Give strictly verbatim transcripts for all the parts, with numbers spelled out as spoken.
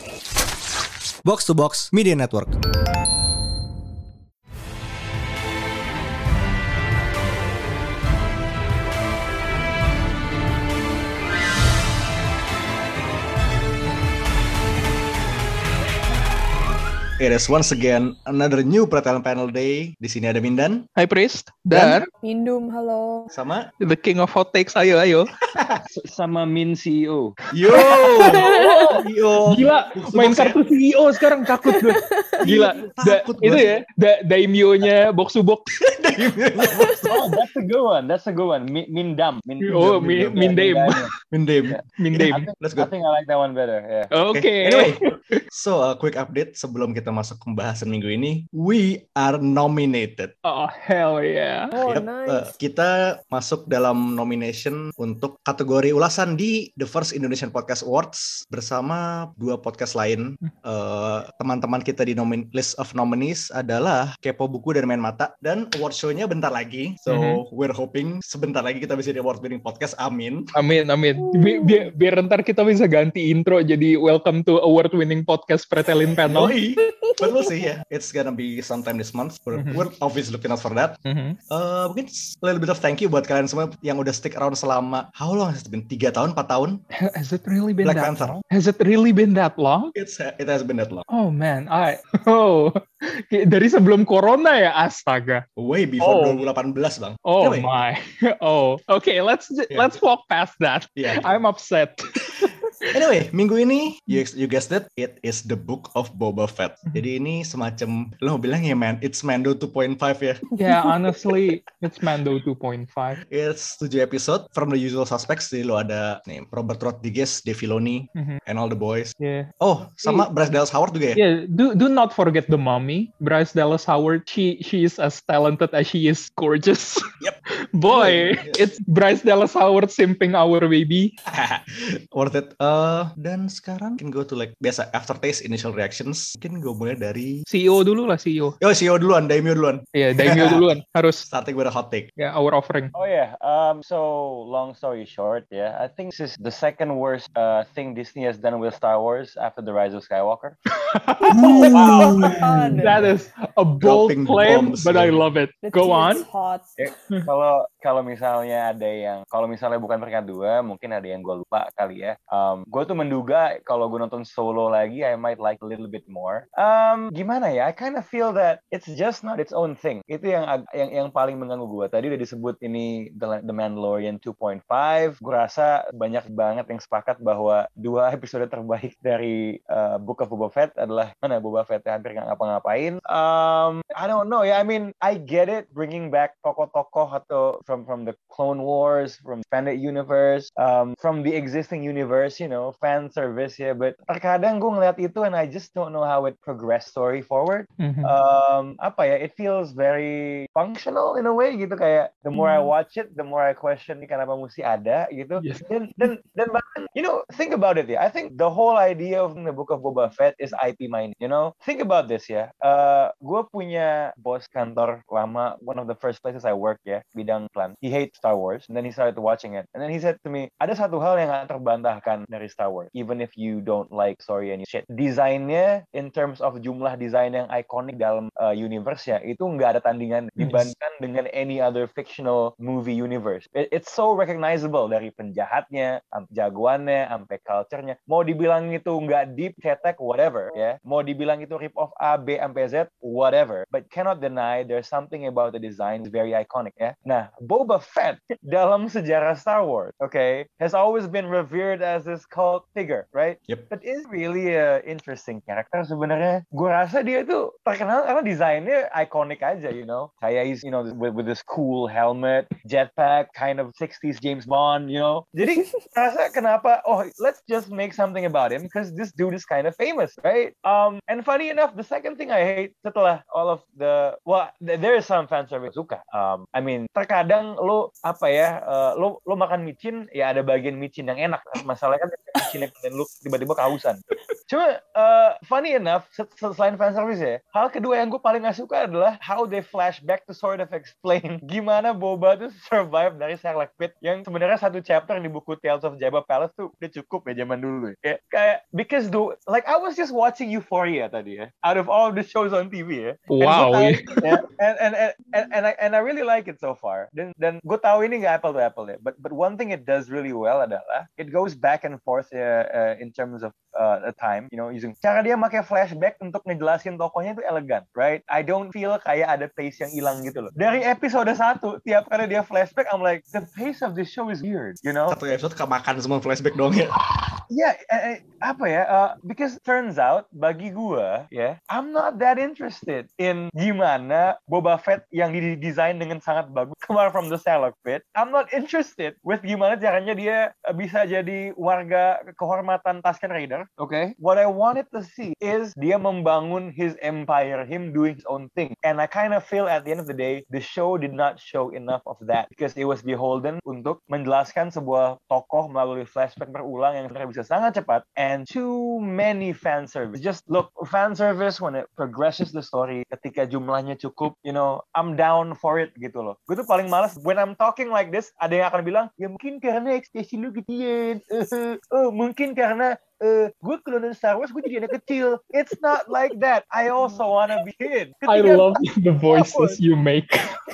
Box to Box Media Network. It is once again another new Pretel Panel Day. Di sini ada Mindan. Hai Priest. Dan Mindum, halo. Sama The King of Hot Takes, ayo ayo. Sama Min C E O. Yo. Yo. Gila, main kartu C E O sekarang takut gue. Gila. Da, Takut itu gua. ya, da, daimyo-nya box to box. Oh, that's a good one. That's a good one. Min, Mindam. Min, Oh, mi, Mindaim. Mindem. Mindaim. I think, Let's I go. think I like that one better. Yeah. Oke. Okay. Anyway, so a quick update sebelum kita masuk ke pembahasan minggu ini. We are nominated. Oh, hell yeah. Oh, Yep, nice. uh, kita masuk dalam nomination untuk kategori ulasan di The First Indonesian Podcast Awards bersama dua podcast lain. Uh, teman-teman kita di nomin- list of nominees adalah Kepo Buku dan Main Mata, dan award show-nya bentar lagi. So Mhm. we're hoping sebentar lagi kita bisa di award winning podcast. Amin. Amin, amin. Bi- bi- biar ntar kita bisa ganti intro jadi welcome to award winning podcast Pretelin Panel. Yoi. But we'll see ya. It's gonna be sometime this month. We're, Mhm. we're obviously looking out for that. Mhm. Uh, mungkin a little bit of thank you buat kalian semua yang udah stick around selama how long has it been? tiga tahun, empat tahun? Has it really been Black that Panther. long? Has it really been that long? It's it has been that long. Oh man, I oh dari sebelum corona ya, astaga. Way before Oh. dua ribu delapan belas, Bang. Oh Anyway, my. Oh, okay. Let's Yeah. let's walk past that. yeah. I'm upset. Anyway, minggu ini you, you guessed it, it is the Book of Boba Fett. Jadi ini semacam lo mau bilang ya man, it's Mando two point five ya. Yeah, honestly, it's Mando two point five. It's tujuh episode from the usual suspects. Jadi lo ada nih Robert Rodriguez, Dave Filoni, Mhm. and all the boys. Yeah. Oh, sama Bryce Dallas Howard juga ya. Yeah, do do not forget the mommy, Bryce Dallas Howard. She she is as talented as she is gorgeous. Yep. Boy, Yeah. it's Bryce Dallas Howard simping our baby. Worth it. Uh, dan sekarang can go to like biasa aftertaste, initial reactions. Mungkin gue mulai dari C E O dulu lah C E O. Yo, C E O duluan, Daimyo duluan. Iya, yeah, daimyo duluan harus. Starting with a hot take. Ya, yeah, our offering. Oh yeah. Um. So long story short, yeah, I think this is the second worst uh thing Disney has done with Star Wars after the Rise of Skywalker. Wow. That is a bold Dropping claim, bombs, but I yeah. love it. The Go tea on. is hot. Kalau kalau misalnya ada yang kalau misalnya bukan peringkat dua, mungkin ada yang gue lupa kali ya. Um, gue tuh menduga kalau gue nonton Solo lagi, I might like a little bit more. Um, gimana ya? I kind of feel that it's just not its own thing. Itu yang ag- yang yang paling mengganggu gue. Tadi udah disebut ini The, The Mandalorian two point five. Gue rasa banyak banget yang sepakat bahwa dua episode terbaik dari uh, Book of Boba Fett adalah mana Boba Fett hampir nggak ngapa-ngapain. Um, I don't know ya. I mean, I get it bringing back tokoh-tokoh atau from from the Clone Wars, from expanded universe, um, from the existing universe, you know, fan service ya. But terkadang gue ngeliat itu and I just don't know how it progress story forward. Mhm. Um, apa ya? It feels very functional in a way gitu, kayak the more I Hmm. watch it, the more I question ini kenapa mesti ada gitu. Yes. Dan dan dan bahkan, you know, think about it ya. I think the whole idea of the Book of Boba Fett is I P mining. You know, think about this ya. Uh, gue punya bos kantor lama, one of the first places I work ya, bidang plan. He hates Star Wars, and then he started watching it, and then he said to me, ada satu hal yang gak terbantahkan dari Star Wars, even if you don't like story and shit. Desainnya, in terms of jumlah desain yang ikonik dalam uh, universe ya, itu nggak ada tandingan dibandingkan dengan any other fictional movie universe. It- it's so recognizable dari penjahatnya, sampai jagoannya, sampai culture-nya. Mau dibilang itu nggak deep, cetek, whatever, ya. Mau dibilang itu rip off A, B, sampai Z, whatever. But cannot deny there's something about the design is very iconic, ya. Nah, Boba Fett dalam sejarah Star Wars, okay, has always been revered as this cult figure, right? Yep. But is really a interesting character sebenarnya. Gue rasa dia itu terkenal karena desainnya iconic aja, you know. Kayak he's, you know, with, with this cool helmet, jetpack, kind of sixties James Bond, you know. Jadi rasa kenapa, oh, let's just make something about him because this dude is kind of famous, right? Um, and funny enough, the second thing I hate setelah all of the, well, th- there is some fan service suka. Um, I mean, terkadang lo apa ya, uh, lo lo makan micin, ya ada bagian micin yang enak. Masalahnya kan micin yang dan lo tiba-tiba kehausan. Cuma uh, funny enough, selain fan service ya, hal kedua yang gue paling gak suka adalah how they flashback to sort of explain gimana Boba tuh survive dari Sarlacc pit, yang sebenarnya satu chapter di buku Tales of Jabba Palace tuh udah cukup ya zaman dulu ya. Kayak, kayak because do like I was just watching Euphoria tadi ya, out of all the shows on T V ya. Wow. And, yeah, and, and, and, and, and, I, and I really like it so far. Dan dan gue tahu ini nggak apple to apple ya, but but one thing it does really well adalah it goes back and forth uh, uh, in terms of uh, a time, you know, using cara dia pakai flashback untuk ngejelasin tokohnya itu elegan, right? I don't feel kayak ada pace yang hilang gitu loh. Dari episode satu, tiap kali dia flashback, I'm like, the pace of this show is weird, you know? Satu episode kemakan semua flashback dong ya. Ya, yeah, eh, apa ya? Uh, because turns out bagi gua, ya, yeah, I'm not that interested in gimana Boba Fett yang didesain dengan sangat bagus keluar from the Sarlacc pit. I'm not interested with gimana caranya dia uh, bisa jadi warga kehormatan Tusken Raider. Okay, what I wanted to see is dia membangun his empire, him doing his own thing. And I kind of feel at the end of the day, the show did not show enough of that because it was beholden untuk menjelaskan sebuah tokoh melalui flashback berulang yang sebenarnya bisa sangat cepat, and too many fan service. Just look, fan service when it progresses the story, ketika jumlahnya cukup, you know, I'm down for it gitu loh. Gue tuh paling malas when I'm talking like this, ada yang akan bilang, ya mungkin karena ekspresi lu gedean, uh, oh mungkin karena uh, gue kalau nonton Star Wars gue jadi anak kecil. It's not like that. I also wanna be kid. Ketika I love the voices you make.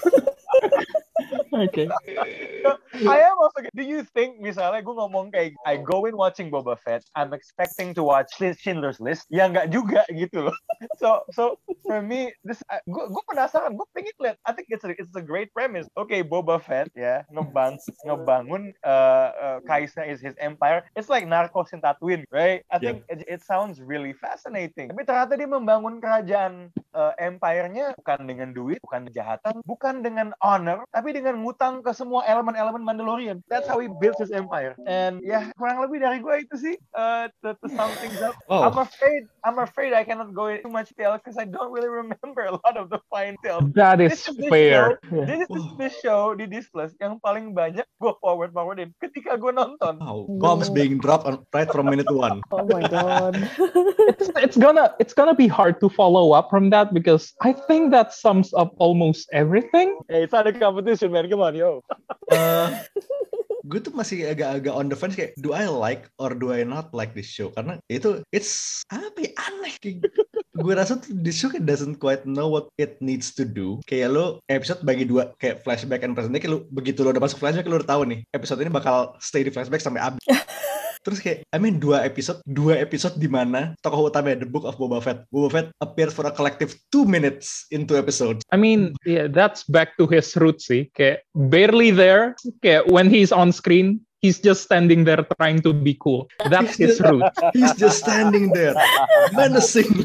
Okay. So, I am also. Do you think misalnya gue ngomong kayak I go in watching Boba Fett, I'm expecting to watch Schindler's List, ya nggak juga gitu loh. So so for me, this gue gue penasaran, gue pengen lihat. I think it's a, it's a great premise. Okay, Boba Fett ya ngebang ngebangun uh, uh, Kaisna is his empire. It's like Narcos in Tatooine, right? I think yeah. it, it sounds really fascinating. Tapi ternyata dia membangun kerajaan uh, empire-nya bukan dengan duit, bukan kejahatan, bukan dengan honor, tapi dengan ngutang ke semua elemen-elemen Mandalorian. That's how he built his empire. And ya, yeah, kurang lebih dari gue itu sih uh, to, to sum things up. Oh. I'm afraid, I'm afraid I cannot go into too much detail because I don't really remember a lot of the fine details. That is, this is fair. Show, this is the show di Disney Plus yang paling banyak gue forward forwardin ketika gue nonton. Wow. Bombs being dropped on, right from minute one. Oh my god. it's it's gonna it's gonna be hard to follow up from that because I think that sums up almost everything. Hey, it's not a competition, man. Come on, yo. uh, gue tuh masih agak-agak on the fence kayak do I like or do I not like this show, karena itu it's apa ya, aneh kayak gue rasa tuh this show kayak doesn't quite know what it needs to do. Kayak lo episode bagi dua kayak flashback and present day, kayak lo begitu lo udah masuk flashback lo udah tahu nih episode ini bakal stay di flashback sampai habis. Terus kayak, I mean dua episode, dua episode di mana tokoh utama The Book of Boba Fett, Boba Fett appears for a collective two minutes in two episodes. I mean, yeah, that's back to his roots sih. Kayak barely there. Kayak when he's on screen, he's just standing there trying to be cool. That's his root. He's just standing there, menacing.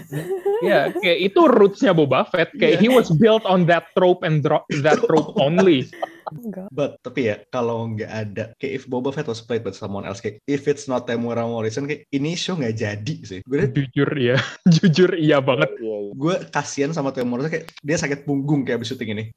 Yeah, kayak itu rootsnya Boba Fett. Kayak yeah. He was built on that trope and dro- that trope only. Enggak. But tapi ya kalau nggak ada kayak if Boba Fett was played by someone else, kayak if it's not Temuera Morrison, kayak ini show nggak jadi sih. Gue jujur ya, jujur iya banget. Gue kasian sama Temuera Morrison, kayak dia sakit punggung kayak abis syuting ini.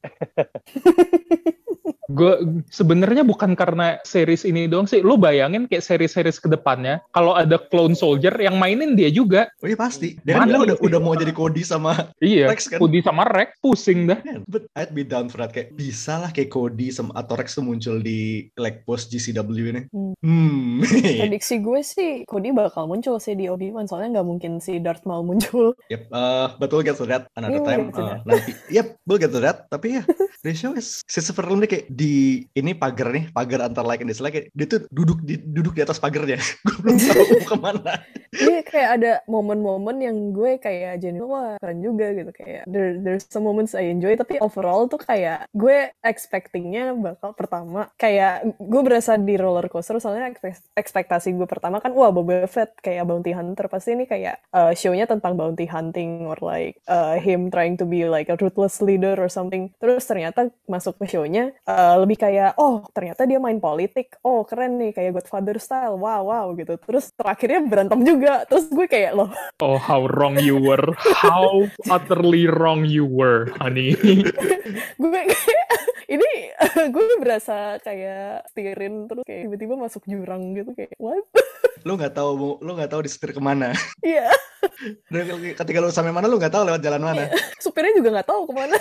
Gue sebenarnya bukan karena series ini doang sih. Lo bayangin kayak series-series kedepannya kalau ada Clone Soldier yang mainin dia juga. Oh iya pasti. Dia kan udah udah mau jadi Cody sama iya, Rex kan. Cody sama Rex pusing dah. Yeah, but I'd be down for that, kayak bisa lah kayak Cody sama atau Rex tuh muncul di like post G C W ini. Hmm. hmm. Prediksi gue sih Cody bakal muncul sih di Obi-Wan, soalnya nggak mungkin si Darth Maul muncul. Yep, uh, but we'll get to that another yeah, time uh, nanti. Yep, we'll get to that. Tapi ya, the show is seperti ini kayak di ini pagar nih, pagar antar like and dislike, dia tuh duduk di duduk di atas pagarnya. Gue belum tahu mau kemana. Iya, kayak ada momen-momen yang gue kayak jadi wah keren juga gitu, kayak there, there's some moments I enjoy, tapi overall tuh kayak gue expectingnya bakal pertama kayak gue berasa di roller coaster, soalnya ekspektasi gue pertama kan wah Boba Fett kayak bounty hunter, pasti ini kayak uh, show-nya tentang bounty hunting or like uh, him trying to be like a ruthless leader or something. Terus ternyata masuk ke show-nya uh, lebih kayak oh ternyata dia main politik, oh keren nih kayak Godfather style, wow wow gitu. Terus terakhirnya berantem juga, terus gue kayak loh, oh how wrong you were, how utterly wrong you were honey. Gue kayak ini gue berasa kayak setirin terus kayak tiba-tiba masuk jurang gitu, kayak what. lu nggak tahu lu nggak tahu disetir kemana. Iya. Dan ketika lu sampai mana lu nggak tahu lewat jalan mana. Supirnya juga nggak tahu kemana.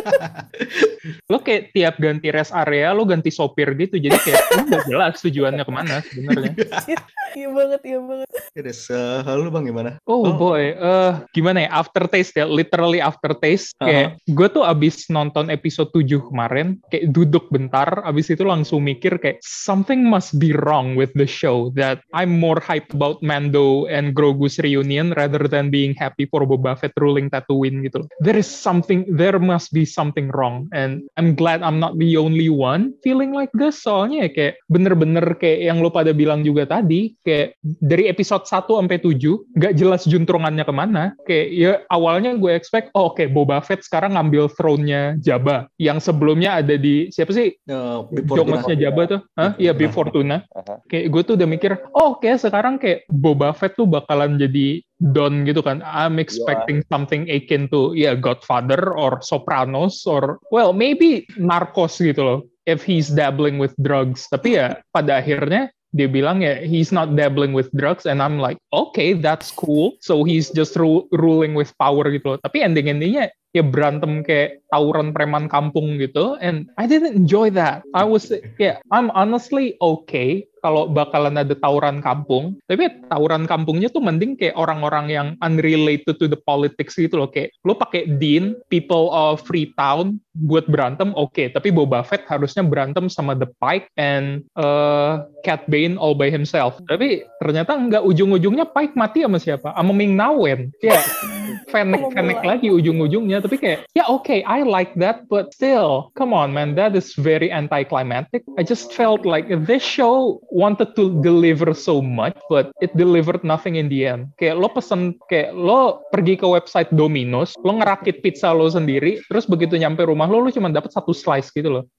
Lo kayak tiap ganti rest area lo ganti sopir gitu, jadi kayak lo nggak jelas tujuannya kemana sebenarnya. Iya banget, iya banget. Yes, uh, lu Bang gimana? Oh, oh. boy, uh, gimana ya, aftertaste ya, literally aftertaste. Kayak uh-huh. gue tuh abis nonton episode tujuh kemarin, kayak duduk bentar, abis itu langsung mikir kayak something must be wrong with the show, that I'm more hyped about Mando and Grogu's reunion rather than being happy for Boba Fett ruling Tatooine gitu. There is something, there must be something wrong, and I'm glad I'm not the only one feeling like this. Soalnya ya kayak bener-bener kayak yang lo pada bilang juga tadi, kayak dari episode satu sampai tujuh gak jelas juntrungannya kemana. Kayak ya awalnya gue expect oh oke okay, Boba Fett sekarang ngambil throne-nya Jabba yang sebelumnya ada di siapa sih uh, Jogmasnya Jabba tuh Hah? Iya Bib Fortuna. Uh-huh. Kayak gue tuh udah mikir oh oke okay, sekarang kayak Boba Fett tuh bakalan jadi Don gitu kan. I'm expecting yeah. something akin to yeah Godfather or Sopranos or well maybe Narcos gitu loh if he's dabbling with drugs. Tapi ya pada akhirnya dia bilang ya he's not dabbling with drugs, and I'm like okay that's cool, so he's just ru- ruling with power gitu loh. Tapi ending-endingnya ya berantem kayak tawuran preman kampung gitu, and I didn't enjoy that. I was yeah I'm honestly okay kalau bakalan ada tawuran kampung, tapi ya, tawuran kampungnya tuh mending kayak orang-orang yang unrelated to the politics gitu loh, kayak lo pakai Dean, people of Freetown buat berantem oke, okay. Tapi Boba Fett harusnya berantem sama The Pike and uh, Cat Bane all by himself. Tapi ternyata nggak, ujung-ujungnya Pike mati sama siapa? Sama Ming-Na Wen. Ya, Fennec-Fennec lagi ujung-ujungnya. Tapi kayak, ya oke, okay, I like that, but still, come on man, that is very anticlimactic. I just felt like this show wanted to deliver so much, but it delivered nothing in the end. Kayak lo pesen, kayak lo pergi ke website Domino's, lo ngerakit pizza lo sendiri, terus begitu nyampe rumah lo, lo cuma dapat satu slice gitu loh.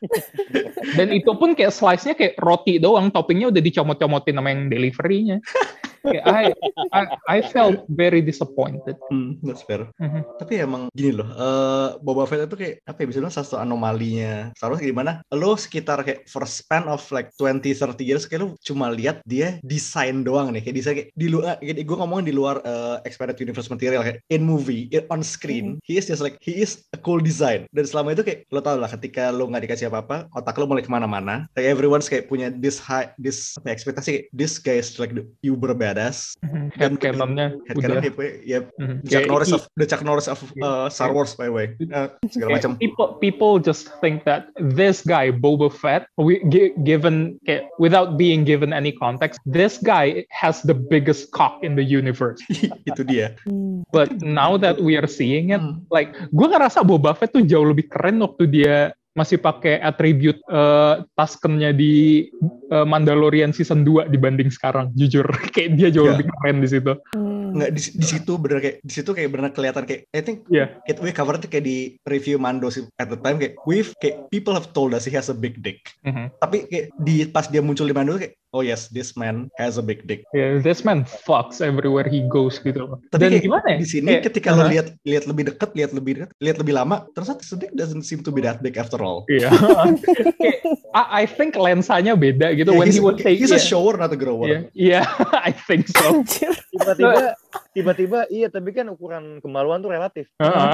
Dan itu pun kayak slice-nya kayak roti doang, toppingnya udah dicomot-comotin sama yang delivery-nya. I, I I felt very disappointed. Hmm, that's fair. Mm-hmm. Tapi emang gini loh, uh, Boba Fett itu kayak apa ya, bisa bilang satu anomalinya. Seharusnya gimana? Lo sekitar kayak for span of like twenty thirty years kayak lo cuma lihat dia desain doang nih, kayak desain kayak di luar, kayak gue ngomongin di luar uh, expanded universe material, kayak in movie, in, on screen, mm-hmm. he is just like he is a cool design. Dan selama itu kayak lo tau lah, ketika lo nggak dikasih apa-apa, otak lo mulai kemana-mana. Kayak everyone's kayak punya this high, this apa, ekspektasi kayak this guy is like the uber bad. Mm-hmm. Head cannon-nya udah ya, mm-hmm. Chuck Norris of the Chuck Norris of uh, Star Wars by the way, uh, segala macam. People people just think that this guy Boba Fett, we, g- given okay, without being given any context, this guy has the biggest cock in the universe. Itu dia. But now that we are seeing it, like gue ngerasa Boba Fett tuh jauh lebih keren waktu dia masih pakai attribute uh, Tusken-nya di uh, Mandalorian season dua dibanding sekarang, jujur. Kayak dia jauh yeah. lebih keren di situ. Nggak, di, di situ bener kayak di situ kayak bener kelihatan kayak I think yeah. it, we covered it kayak di review Mando at the time, kayak we've kayak people have told us he has a big dick. Mm-hmm. Tapi kayak di pas dia muncul di Mando kayak oh yes, this man has a big dick. Yeah, this man fucks everywhere he goes gitu loh. Tapi dan kayak gimana ya? Di sini kayak, ketika uh-huh. lo lihat lihat lebih dekat, lihat lebih dekat, lihat lebih lama, ternyata this dick doesn't seem to be that big after all. Iya. Yeah. I, I think lensanya beda gitu. Yeah, when he was saying, he's yeah. a shower not a grower. Iya, yeah. yeah, I think so. Tiba-tiba, tiba-tiba iya, tapi kan ukuran kemaluan tuh relatif. Uh-huh.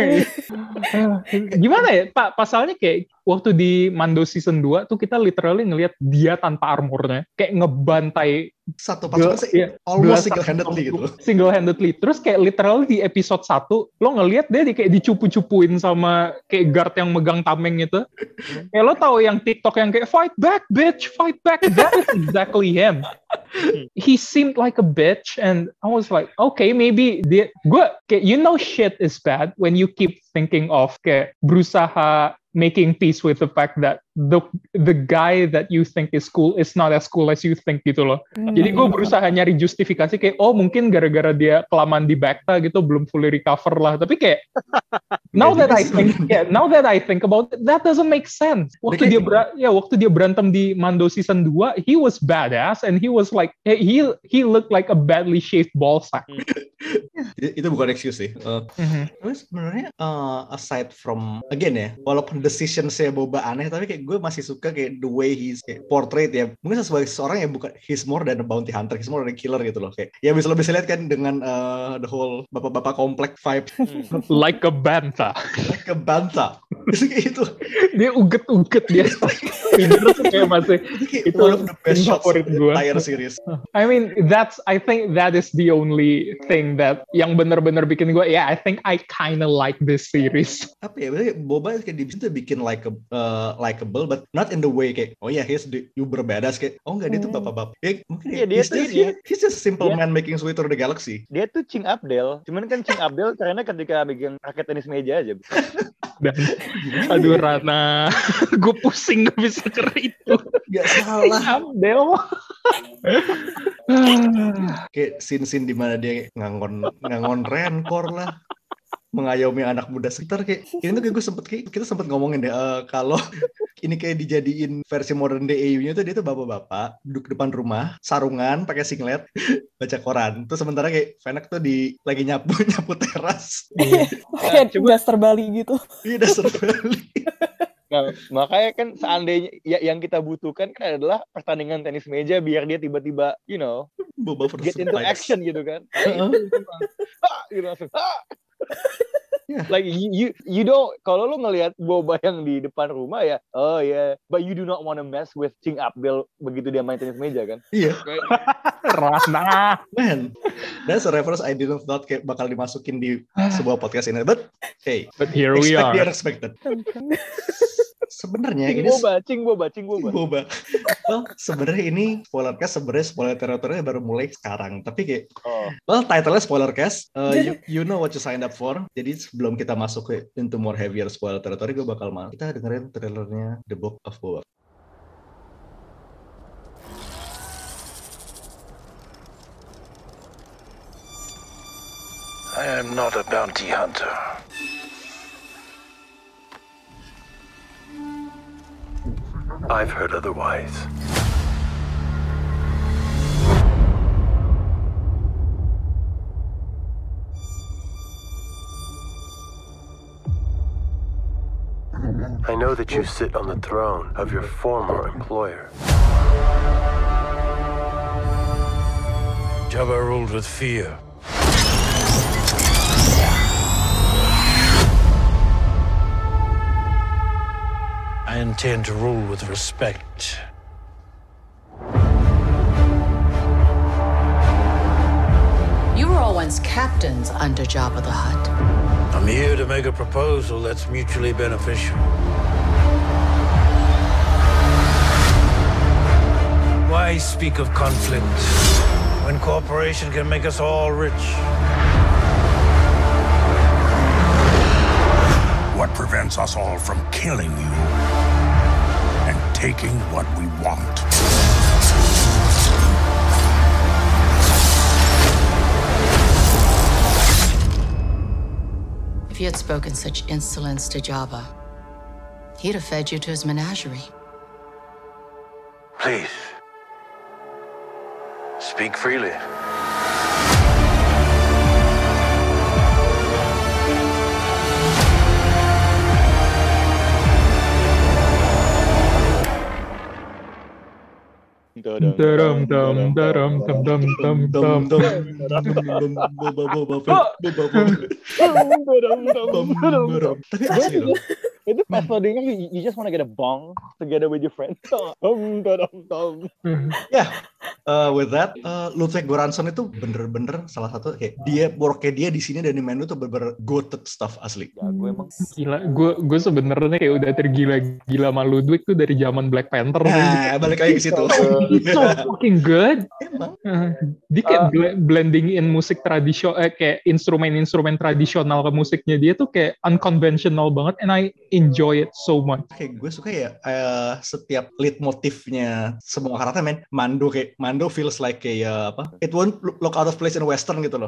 Gimana ya, Pak? Pasalnya kayak waktu di Mando season dua tuh kita literally ngelihat dia tanpa armornya, kayak ngebantai satu pasukan sih, yeah, almost single-handedly gitu. Single-handedly. Terus kayak literally di episode satu, lo ngelihat dia di, kayak dicupu-cupuin sama kayak guard yang megang tameng itu. Kayak lo tahu yang TikTok yang kayak fight back bitch, fight back. That is exactly him. He seemed like a bitch, and I was like, okay, maybe dia, gue kayak you know shit is bad when you keep thinking of kayak berusaha making peace with the fact that the the guy that you think is cool is not as cool as you think gitu loh. Mm. Jadi gue berusaha nyari justifikasi kayak oh mungkin gara-gara dia kelamaan di Bacta gitu belum fully recover lah. Tapi kayak now that I think yeah, now that I think about it, that doesn't make sense. Waktu dia ber- ya waktu dia berantem di Mando season dua, he was badass and he was like he he looked like a badly shaved ball sack. Itu bukan excuse sih. Uh, mm-hmm. Tapi sebenarnya uh, aside from again ya, walaupun decision saya Boba aneh, tapi kayak gue masih suka kayak the way he's kayak portrait ya. Mungkin sebagai seorang yang bukan he's more than a bounty hunter, he's more than a killer gitu loh. Kayak ya bisa lebih lihat kan dengan uh, the whole bapak-bapak komplek vibe. Like a banta. Like a banta. Kayak itu. Dia uget-uget dia. Pinter tuh kayak masih itu one of the best shots of the entire series. I mean that's I think that is the only thing that yang benar-benar bikin gue yeah I think I kinda like this series. Apa ya, berarti Boba kayak di situ bikin like a, uh, likable but not in the way kayak oh ya yeah, he's the uber badass kayak oh enggak dia tuh bapak-bapak. Ya mungkin yeah, dia he's, tuh, just, he, he's just simple yeah. man making his way through the galaxy. Dia tuh Ching Abdel. Cuman kan Ching Abdel karena ketika bikin raket tenis meja aja. Dan aduh Rana, gue pusing gak bisa ker itu. Gak salah. Abdel. Kayak scene-scene di mana dia ngangon ngangon Rancor lah, mengayomi anak muda sekitar kayak ini tuh kayak gue sempet kayak kita sempet ngomongin deh uh, kalau ini kayak dijadiin versi modern day A U-nya tuh dia tuh bapak-bapak duduk depan rumah sarungan pakai singlet baca koran terus sementara kayak Fennec tuh di lagi nyapu nyapu teras kayak dasar Bali gitu. Iya dasar Bali. Nah, makanya kan seandainya ya, yang kita butuhkan kan adalah pertandingan tenis meja biar dia tiba-tiba you know Boba get into fights. Action gitu kan. Uh-huh. Ah, gitu langsung. Ah! Yeah. Like you, you, you don't. Kalau lu ngelihat Boba yang di depan rumah ya, oh ya, yeah. But you do not want to mess with Ching Abdel begitu dia main tenis meja kan? Iya. Rana. Man, that's a reference I didn't thought kayak bakal dimasukin di sebuah podcast ini. But hey, but here we are. Expect the unexpected. Sebenarnya Cing ini Boba, Cing Boba, Cing Boba. Boba. Well, sebenarnya ini spoiler cast sebenarnya spoiler teritorinya baru mulai sekarang. Tapi kayak, oh. well, title-nya spoiler cast. Uh, you, you know what you signed up for. Jadi sebelum kita masuk ke into more heavier spoiler territory, gue bakal mal. Kita dengerin trailernya The Book of Boba. I am not a bounty hunter. I've heard otherwise. I know that you sit on the throne of your former employer. Jabba ruled with fear. I intend to rule with respect. You were all once captains under Jabba the Hutt. I'm here to make a proposal that's mutually beneficial. Why speak of conflict when cooperation can make us all rich? What prevents us all from killing you and taking what we want? If you had spoken such insolence to Jabba, he'd have fed you to his menagerie. Please, speak freely. Daram daram daram dam dam dam dam dam. Tapi asli loh. Itu pas loadingnya you, you just wanna get a bong together with your friends. Ya, uh, with that, uh, Ludwig Göransson itu bener-bener salah satu kayak dia worknya dia di sini dan di menu tuh bener-bener goated stuff asli. Ya, gue emang gila, gue gue sebenarnya kayak udah tergila-gila sama Ludwig tuh dari zaman Black Panther. Nah, balik lagi ke situ. It's so fucking good. Emang. Uh, dia kayak uh, blending in musik tradisional, eh, kayak instrumen-instrumen tradisional ke musiknya dia tuh kayak unconventional banget, and I enjoy it so much. Kayak gue suka ya uh, setiap lead motifnya semua karakter men. Mando kayak Mando feels like kayak apa? It won't look out of place in western gitu loh. Mm-mm.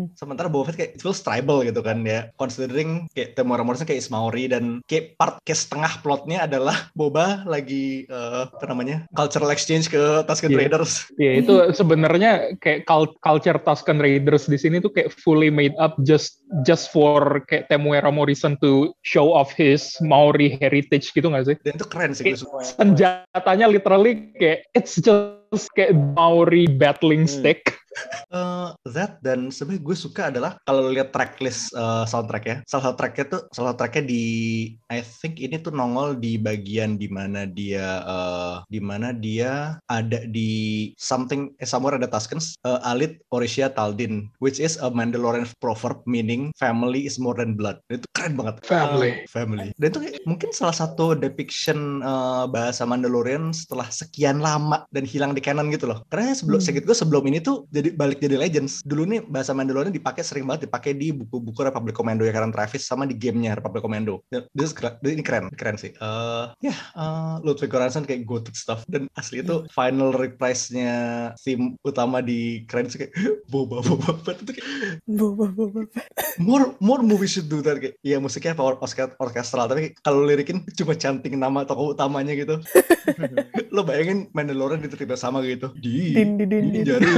Sementara Boba Fett kayak it feels tribal gitu kan ya. Considering kayak Temuera Morrison kayak Ismaori dan kayak part kayak setengah plotnya adalah Boba lagi uh, apa namanya cultural exchange ke Tusken yeah. Raiders. Iya yeah, itu sebenarnya kayak culture Tusken Raiders di sini tuh kayak fully made up just just for kayak Temuera Morrison to show off his Maori heritage gitu nggak sih? Dan itu keren sih. Kayak senjatanya literally kayak it's just kayak Maori battling stick. Uh, that dan sebenarnya gue suka adalah kalau lihat tracklist uh, soundtrack ya, salah satu tracknya tuh salah satu tracknya di I think ini tuh nongol di bagian dimana dia uh, dimana dia ada di something eh, somewhere ada Tuskens uh, Alit Orisia Taldin, which is a Mandalorian proverb meaning family is more than blood. Itu keren banget. Family. Uh, family. Dan itu kayak, mungkin salah satu depiction uh, bahasa Mandalorian setelah sekian lama dan hilang di canon gitu loh. Karena sebelum hmm. gue sebelum ini tuh jadi balik jadi Legends. Dulu nih bahasa Mandalorian dipakai sering banget dipakai di buku-buku Republic Commando ya Karen Travis sama di gamenya Republic Commando. This is, ini keren, keren sih. Uh, ya, yeah, uh, Ludwig Göransson kayak goated stuff dan asli itu yeah. final reprise-nya theme utama di keren sih kayak Boba Boba Fett itu kayak Boba Boba Fett. More more movies should do that kayak. Iya musiknya power orkestral tapi kalau lirikin cuma canting nama tokoh utamanya gitu. Lo bayangin Mandalorian diterima sama gitu. Di din din din jari.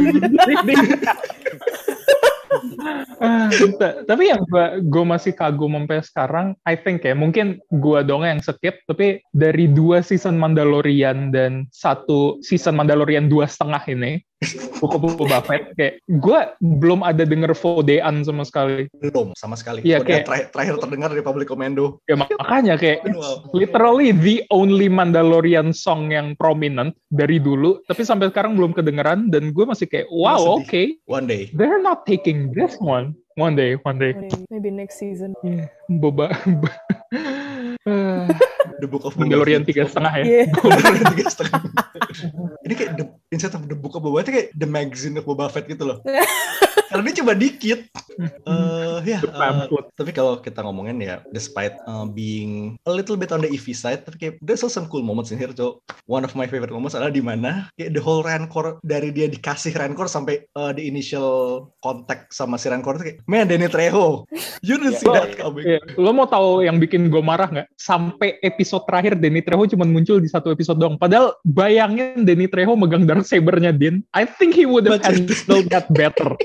uh, tapi yang gue masih kagum sampai sekarang, I think ya, mungkin gue dong yang skip, tapi dari dua season Mandalorian dan satu season Mandalorian dua setengah ini, buku Boba Fett, kayak gue belum ada denger Fodean sama sekali. Belum, sama sekali. Iya, kayak terakhir, terakhir terdengar dari Republic Commando. Ya makanya kayak wow. literally the only Mandalorian song yang prominent dari dulu, tapi sampai sekarang belum kedengeran dan gue masih kayak wow, oke. Okay. One day. They're not taking this one. One day, one day. Maybe next season. Yeah. Boba. uh, The Book of Mandalorian tiga setengah ya. Yeah. Mandalorian tiga setengah. Ini kayak the, instead of The Book of Boba Fett kayak The Magazine of Boba Fett gitu loh. Karena dia cuma dikit. Uh, ya. Uh, tapi kalau kita ngomongin ya, despite uh, being a little bit on the iffy side, tapi kayak there's also some cool moments in here. So one of my favorite moments adalah di mana kayak the whole Rancor dari dia dikasih Rancor sampai uh, the initial contact sama si Rancor itu kayak, man, Danny Trejo, you didn't see that coming. Yeah. Lo mau tahu yang bikin gue marah nggak? Sampai episode terakhir Danny Trejo cuma muncul di satu episode doang. Padahal bayangin Danny Trejo megang dark saber-nya Din. I think he would have handled that better.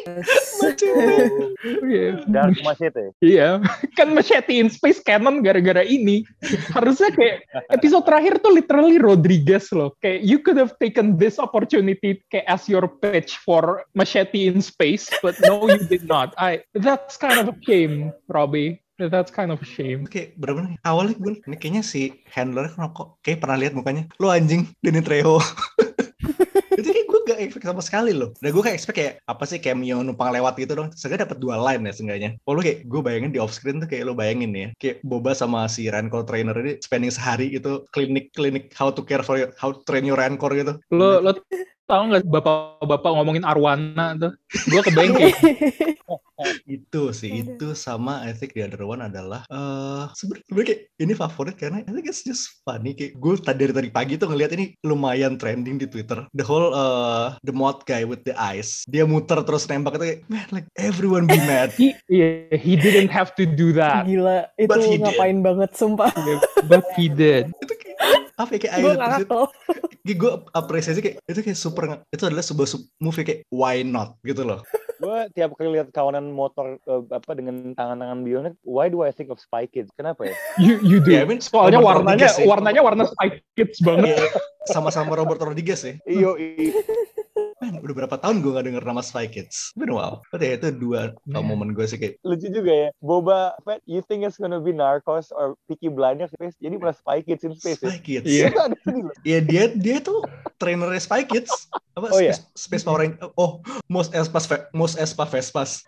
Yeah. Dark Machete. Iya, kan Machete in Space canon gara-gara ini. Harusnya kayak episode terakhir tuh literally Rodriguez loh. Kayak you could have taken this opportunity kayak as your pitch for Machete in Space, but no, you did not. I that's kind of a shame, Robbie. That's kind of a shame. Oke, bener-bener awalnya gue ini kayaknya si handler kok kayak pernah lihat mukanya. Lo anjing, Danny Trejo. Itu kayak gue gak expect sama sekali loh. Dan gue kayak expect kayak apa sih cameo numpang lewat gitu dong. Seenggaknya dapat dua line ya seenggaknya. Oh lo kayak gue bayangin di off screen tuh kayak lo bayangin ya. Kayak Boba sama si Rancor trainer ini spending sehari itu klinik-klinik how to care for your, how to train your Rancor gitu. Lo lo tahu nggak bapak-bapak ngomongin arwana tuh? Gue kebayang kayak itu sih itu sama I think the other one adalah uh, sebenarnya kayak ini favorit karena I think it's just funny kayak gue tadi dari tadi pagi tuh ngeliat ini lumayan trending di Twitter the whole uh, the mod guy with the eyes dia muter terus nembak itu kayak man like everyone be mad he, yeah, he didn't have to do that gila itu ngapain did. Banget sumpah yeah, but he did itu kayak apa ya kayak gue nggak tahu gue apresiasi kayak itu kayak super itu adalah sebuah movie kayak why not gitu loh. Gue tiap kali lihat kawanan motor uh, apa dengan tangan-tangan bionik, why do I think of Spy Kids? Kenapa ya? You you do. Yeah, I mean, soalnya Robert warnanya Rodriguez, warnanya warna Spy Kids banget. Yeah, sama-sama Robert Rodriguez ya. Iyo. Man, udah berapa tahun gue gak denger nama Spy Kids. Been a while. But ya itu dua yeah. momen gue sih kayak lucu juga ya. Boba Fett, you think it's gonna be Narcos or Peaky Blinders space? Jadi malah Spy Kids in space. Spy Kids. Iya. Iya dia dia tuh trainernya Spy Kids. Apa? Oh, Space, yeah. Space Power Rangers. Oh, Mos Espas Mos Espa Vespas.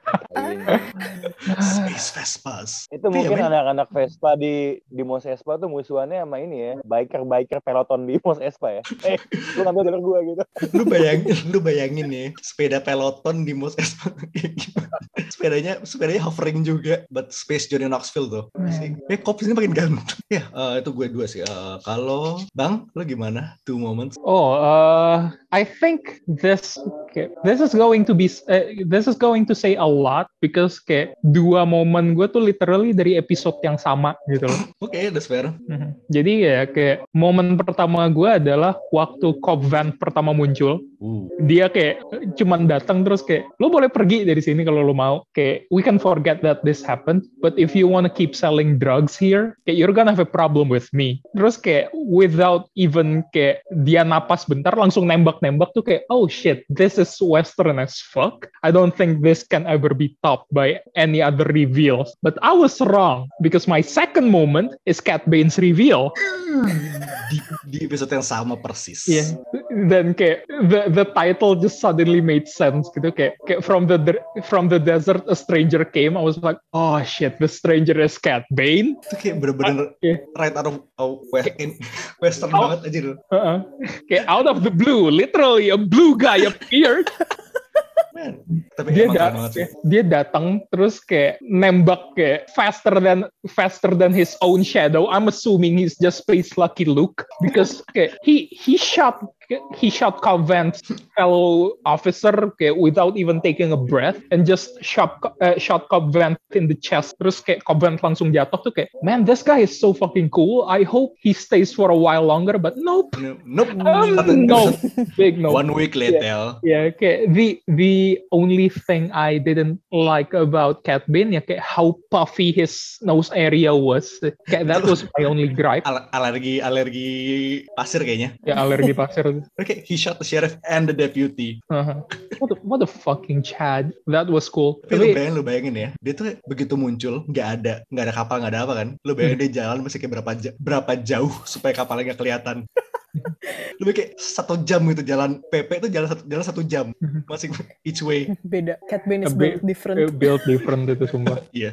Space Vespas. Itu mungkin yeah, anak-anak Vespa di di Mos Espa tuh musuhannya sama ini ya, biker-biker peloton di Mos Espa ya. Eh, lu ngambil jalur gua gitu. Lu bayangin, lu bayangin ya, sepeda peloton di Mos Espa kayak gimana? sepedanya sepedanya hovering juga, but Space Johnny Knoxville tuh. Eh, Cops ini makin ganteng. Ya, uh, itu gue dua sih. Uh, kalau Bang, lo gimana? Two moments. Oh, uh, I think this okay, this is going to be uh, this is going to say a lot because kayak dua momen gue tuh literally dari episode yang sama gitu loh. Oke, okay, that's fair. Mm-hmm. Jadi ya kayak momen pertama gue adalah waktu Cobb Vanth pertama muncul. Uh. Dia kayak cuman datang terus kayak lo boleh pergi dari sini kalau lo mau. Kayak we can forget that this happened, but if you wanna keep selling drugs here, kayak you're gonna have a problem with me. Terus kayak without even kayak dia napas bentar langsung nembak-nembak tuh kayak oh shit, this is Western as fuck. I don't think this can ever be topped by any other reveals. But I was wrong because my second moment is Cat Bane's reveal. Di, di episode yang sama persis. Yeah. Dan kayak the the title just suddenly made sense gitu kayak kayak from the from the desert a stranger came. I was like, oh shit, the stranger is Cat Bane. Itu kayak bener-bener uh, yeah. right out of uh, west, in, western out, banget aja tuh. Uh-uh. Kayak out of the blue, literally a blue guy appeared. Man, tapi dia da- dia datang terus kayak nembak kayak faster than faster than his own shadow. I'm assuming he's just Space Lucky Luke because kayak he he shot he shot Cobb Vanth's fellow officer kayak without even taking a breath and just shot uh, shot Cobb Vanth in the chest. Terus kayak Cobb Vanth langsung jatuh tuh kayak man, this guy is so fucking cool. I hope he stays for a while longer, but nope. No, nope. Um, no. Big no. One week later. Yeah, yeah kayak the the only thing I didn't like about Cat Bane ya kayak how puffy his nose area was. Kayak that was my only gripe. Al- alergi alergi pasir kayaknya. Ya alergi pasir. Okay, he shot the sheriff and the deputy. Uh-huh. What, a, what a fucking Chad. That was cool. Tapi, Tapi lu bayangin, lu bayangin ya, dia tuh begitu muncul, nggak ada, nggak ada kapal, nggak ada apa kan? Lu bayangin dia jalan masih kayak berapa berapa jauh supaya kapalnya nggak kelihatan. Lebih kayak satu jam gitu jalan P P itu jalan satu jalan satu jam masing each way. Beda. Cat Bane is built different. Built different itu sumpah. Iya.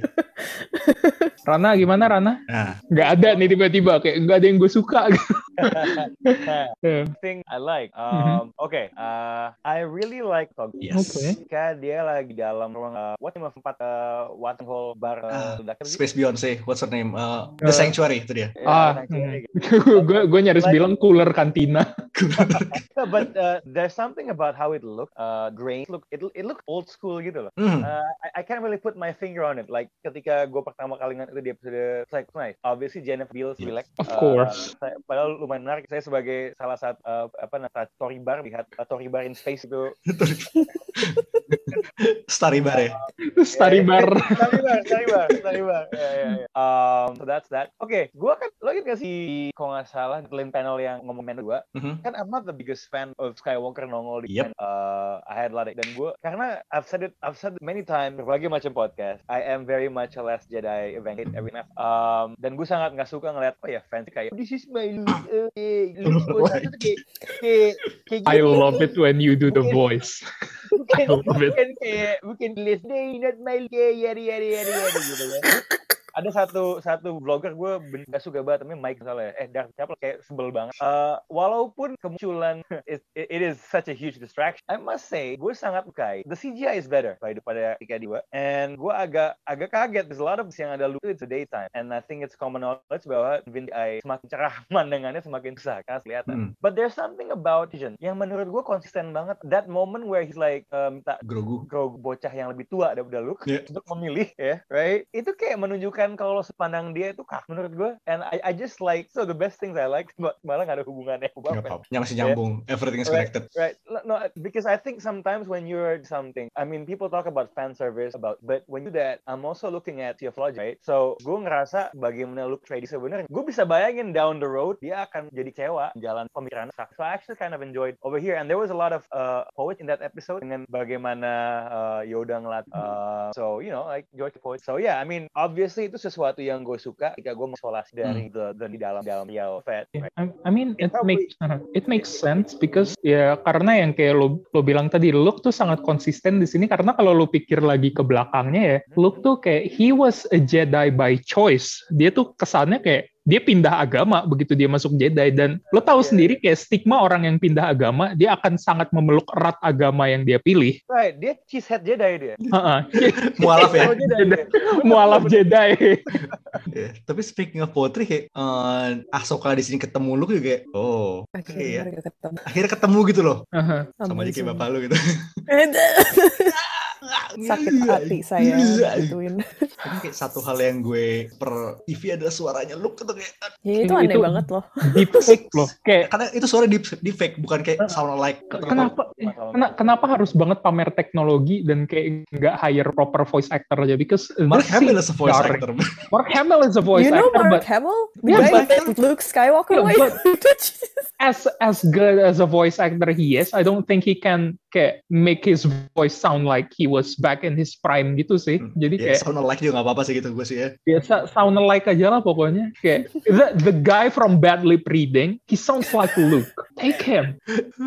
Rana gimana Rana? Nah. Nggak ada nih tiba-tiba kayak nggak ada yang gue suka. Thing I like. Um, mm-hmm. Okay. Uh, I really like Cobb. Yes. Okay. Ketika dia lagi dalam ruang uh, what name of tempat uh, Watson Hall bar uh, uh, Space gitu? Beyonce. What's her name? Uh, The uh, Sanctuary itu dia. Ah. Gue gue nyaris like, bilang cooler kantina. But uh, there's something about how it looked. Uh, grain look it it looked old school gitu loh. Mm. Uh, I, I can't really put my finger on it. Like ketika gue pertama kali ngeliat itu di episode like nice. Obviously Jennifer Beals relax. Of course. Uh, saya, padahal lumayan menarik. Saya sebagai salah satu uh, apa namanya story bar lihat uh, story bar in space itu. Starry bar ya. Starry bar. Starry bar, Starry bar, Starry bar. Yeah, yeah, yeah. Um, so that's that. Oke, okay, gue kan lo ingat gak sih kalau nggak salah di panel yang ngomong men gue, mm-hmm. kan I'm not the biggest fan of Skywalker nongol di yep. uh, I had a lot of, dan gue karena I've said it I've said it many times berbagai macam podcast. I am very much a Last Jedi evangelion every night. Um, dan gue sangat nggak suka ngeliat oh ya fans kayak this is my Luke. Uh, Luke kayak kayak kayak I love it when you do the voice. I love it. Bukan kayak bukan last day not my day yari yari yari yari gitu kan. Ada satu satu vlogger gue nggak suka banget, tapi Mike misalnya, eh Dark siapa kayak sebel banget. Uh, walaupun kemunculan it, it is such a huge distraction, I must say gue sangat suka. The C G I is better daripada ketika dua, and gue agak agak kaget. There's a lot of yang ada lucu it's a daytime, and I think it's common knowledge bahwa Vin Diesel semakin cerah pandangannya semakin susah karena kelihatan. Hmm. But there's something about Vision yang menurut gue konsisten banget. That moment where he's like um, minta Grogu, Grogu bocah yang lebih tua daripada Luke yeah. untuk memilih, ya, yeah, right? Itu kayak menunjukkan kalau sepandang dia itu kak menurut gue, and I, I just like so the best things I like malah nggak ada hubungannya. Yang masih nyambung, yeah. Everything is connected. Right, right. No, because I think sometimes when you're something, I mean people talk about fan service about, but when you do that, I'm also looking at theology, right? So gue ngerasa bagaimana Luke trade sebenarnya, gue bisa bayangin down the road dia akan jadi kecewa jalan pemikiran. So I actually kind of enjoyed over here, and there was a lot of uh, poets in that episode dengan bagaimana uh, Yoda ngelat, uh, so you know like George the poet. So yeah, I mean obviously itu sesuatu yang gue suka ketika gue mengisolasi dari hmm. the, the di dalam dalam Yellow Fett. Right? I, I mean it, it makes uh, it makes sense because ya karena yang kayak lo lo bilang tadi, Luke tuh sangat konsisten di sini karena kalau lo pikir lagi ke belakangnya ya, hmm. Luke tuh kayak he was a Jedi by choice. Dia tuh kesannya kayak dia pindah agama begitu dia masuk Jedi, dan lo tahu Yeah. sendiri kayak stigma orang yang pindah agama, dia akan sangat memeluk erat agama yang dia pilih. Right, dia cheesehead Jedi dia. Heeh. Mualaf ya. Oh, Jedi dia. Mualaf Jedi. Yeah. Tapi speaking of poetry, kayak uh, Ahsoka di sini ketemu Luke juga kayak, oh, oke Akhirnya ya. mereka ketemu. Akhirnya ketemu gitu loh. Heeh. Sama aja kayak Amazing. bapak lu gitu. Sakit hati saya gituin. Tapi kayak satu hal yang gue per T V adalah suaranya Luke gitu kayak, Ya itu Itu- aneh itu- banget loh. Deep fake loh. Kayak karena itu suara deep, deep fake, bukan kayak sound alike. kenapa kena- kenapa harus banget pamer teknologi dan kayak nggak hire proper voice actor aja, because Mark this Hamill scene is a voice jarring. actor. Mark Hamill is a voice You know actor, Mark but Hamill? The Yeah, guy but- who made Luke Skywalker. Yeah, Wait. as as good as a voice actor he is, I don't think he can kayak make his voice sound like he was back in his prime gitu sih. Jadi Ya, kayak sound alike juga gak apa-apa sih gitu gue sih ya. biasa sound alike aja lah pokoknya. Kayak the, the guy from Bad Lip Reading, he sounds like Luke. Take him.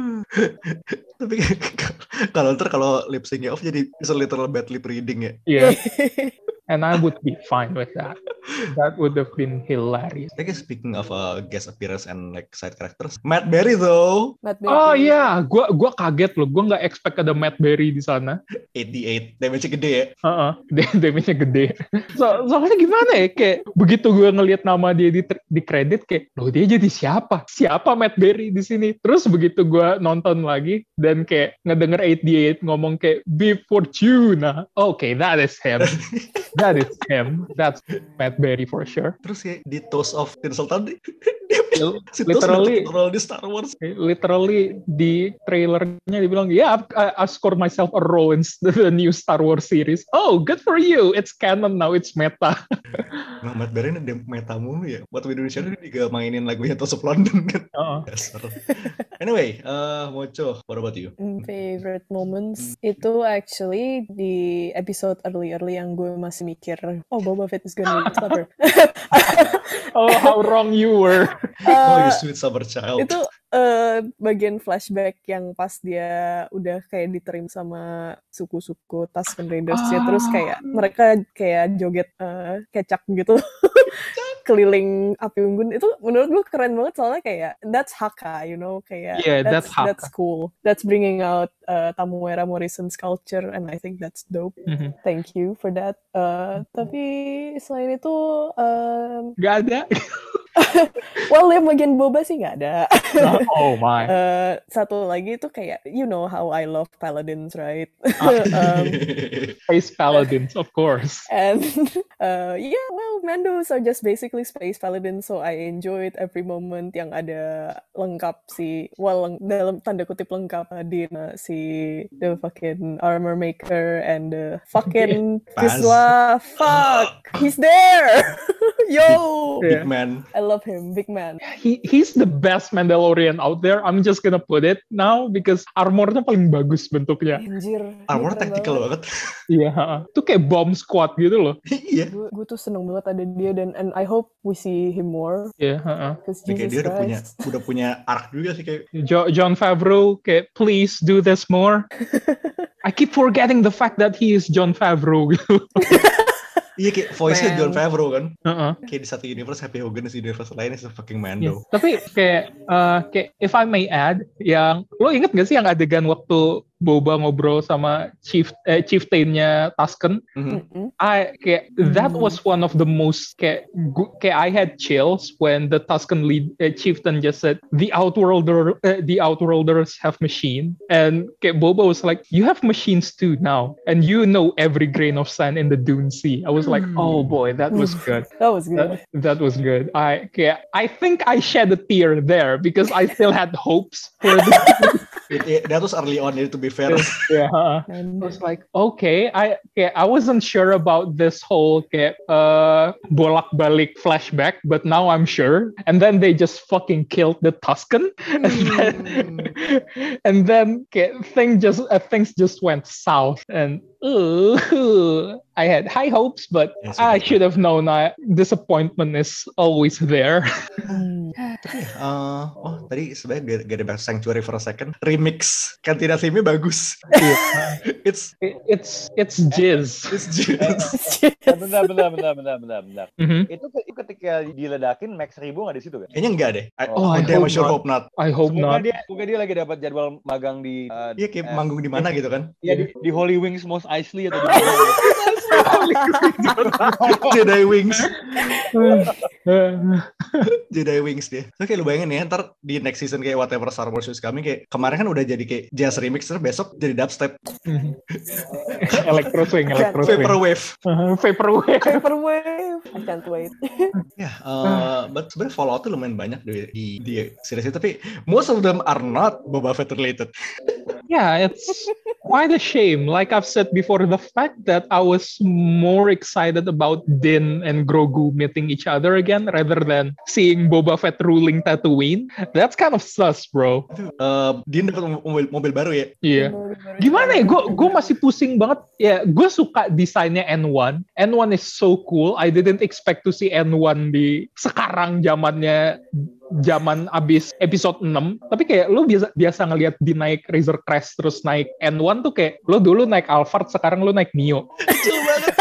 Tapi kalau ntar kalau lip syncnya off jadi bisa literal bad lip reading ya. Yeah. And I would be fine with that. That would have been hilarious. I guess speaking of uh, guest appearance and like side characters, Matt Berry though, Matt Berry. Oh iya, gua gua kaget loh. Gua nggak expect ada Matt Berry di sana. eighty-eight, damage-nya gede ya. Heeh, damage-nya gede. So, soalnya gimana ya, kayak begitu gue ngelihat nama dia di di kredit kayak, loh dia jadi siapa? Siapa Matt Berry di sini? Terus begitu gue nonton lagi dan kayak ngedenger eighty-eight ngomong kayak Beef Fortuna. Okay, that is him. That is him. That's Matt Berry for sure. Terus kayak di Toast of Tinseltown, dia si Toast Literally, udah role di Star Wars. literally di trailernya dibilang, yeah, I, I scored myself a role in the new Star Wars series. Oh, good for you. It's canon now. It's meta. Nah, Matt Berry ini dem- meta mulu ya. Waktu di Indonesia dia juga mainin lagunya Toast of London kan. Uh-uh. Dasar. Anyway, uh, Mocho, what about you? Mm, Favorite moments itu actually di episode early-early yang gue masih mikir, oh Boba Fett is gonna be clever. Oh, how wrong you were. Oh, you Uh, sweet summer child. itu uh, bagian flashback yang pas dia udah kayak diterima sama suku-suku Tusken Raiders ya, terus kayak mereka kayak joget uh, kecak gitu keliling api unggun. Itu menurut gue keren banget soalnya kayak that's Hakka, you know, kayak Yeah, that's Hakka. that's cool, that's bringing out uh, Tamuera Morrison's culture and I think that's dope. Mhm. Thank you for that. Uh, tapi selain itu um, Gak ada. well yang bagian boba sih nggak ada. Oh my. Uh, satu lagi itu kayak you know how I love paladins, right? Ah. um, Space Paladins, of course. and uh, yeah, well Mandos are just basically space paladins, so I enjoyed every moment yang ada lengkap si, well leng- dalam tanda kutip lengkap uh, Dina, si the fucking armor maker and the fucking Paz. Vizsla, fuck, he's there. Yo, Yeah. Big man. I love him, big man. He he's the best Mandalorian out there. I'm just gonna put it now because armornya paling bagus bentuknya. Anjir, Armor keren tactical banget. Iya, itu kayak bomb squad gitu loh. Iya. Gue gue tuh seneng banget ada dia dan and I hope we see him more Iya, heeh. because Kayak Jesus dia udah punya Christ. udah punya arc juga sih kayak. Jo- John Favreau kayak please do this more. I keep forgetting the fact that he is John Favreau gitu. Iya kayak voice-nya Man. John Favreau kan. Heeh. Kayak di satu universe Happy Hogan, di universe lain is a fucking Yes. Mando. Tapi kayak uh, kayak if I may add, yang lo inget gak sih yang adegan waktu Boba ngobrol sama chief eh, chieftain-nya Tusken? Mhm. Mm-mm. I kayak that was one of the most kayak gu- kayak I had chills when the Tusken lead uh, chieftain just said the outworlder uh, the outworlders have machine, and kayak Boba was like, you have machines too now and you know every grain of sand in the Dune Sea. I was like, oh boy, that was good. That was good. That, that was good. I kayak I think I shed a tear there because I still had hopes for the It, it, that was early on, to be fair. yeah. I And was like, okay, I kayak I wasn't sure about this whole kayak uh, bolak-balik flashback, but now I'm sure. And then they just fucking killed the Tusken, and then and then kayak thing just uh, things just went south, and uh, I had high hopes, but Ya, I sudah. should have known. I, disappointment is always there. Hmm. Uh, oh tadi sebenarnya gak ada bahas Sanctuary for a second. Remix Cantina theme-nya bagus. It's It- it's it's jizz. it's just Eh, bentar, bentar, bentar, bentar, bentar, bentar. Mhm. Itu ke- ketika diledakin Max Ribu nggak di situ kan? kayaknya enggak deh. I, Oh, oh, I damn, hope sure not. hope not. I hope Semoga not. dia, semoga dia lagi dapat jadwal magang di uh, Iya kayak eh, manggung di mana gitu kan. Iya di, di Holy Wings Mos Eisley atau di mana? Jedi Wings. Jedi Wings dia. So kayak lu bayangin ya, ntar di next season kayak whatever Star Wars is coming, kayak kemarin kan udah jadi kayak jazz remix, terus besok jadi dubstep. Electro swing, electro swing. Vaporwave. Uh, Vaporwave. Vaporwave. I can't wait. Ya, uh, but sebenarnya Fallout tuh lumayan banyak di, di, di series itu, tapi most of them are not Boba Fett related. Yeah, it's quite a shame. Like I've said before, the fact that I was more excited about Din and Grogu meeting each other again rather than seeing Boba Fett ruling Tatooine, that's kind of sus, bro. Uh, dia dapat mobil, mobil baru ya. Iya. Gimana ya? Gue gue masih pusing banget. Ya, gue suka desainnya N one. N one is so cool. I didn't expect to see N one di sekarang zamannya zaman abis episode enam. Tapi kayak lu biasa biasa ngelihat di naik Razor Crest terus naik N one tuh kayak lu dulu naik Alphard, sekarang lu naik Mio. Kecil banget.